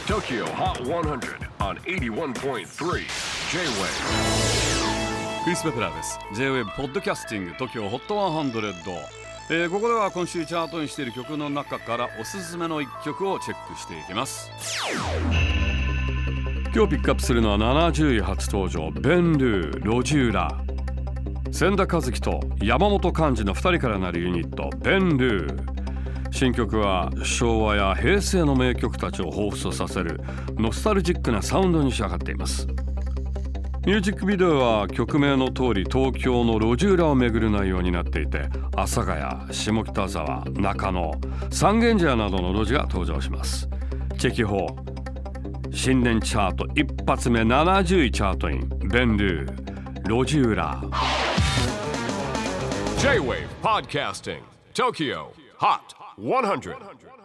TOKYO HOT 100 on 81.3 J-WAVE クリス・ベプラーです。 J-WAVE ポッドキャスティング TOKYO HOT 100、ここでは今週チャートにしている曲の中からおすすめの1曲をチェックしていきます。今日ピックアップするのは70位初登場、ベンルー・ロジューラ。千田和樹と山本寛二の2人からなるユニット、ベンルー。新曲は昭和や平成の名曲たちを彷彿とさせるノスタルジックなサウンドに仕上がっています。ミュージックビデオは曲名の通り東京の路地裏を巡る内容になっていて、阿佐ヶ谷、下北沢、中野、三軒茶屋などの路地が登場します。チェキホー新年チャート一発目70位チャートイン、ベンルー、路地裏。 J-WAVE PODCASTING TOKYO HOT 100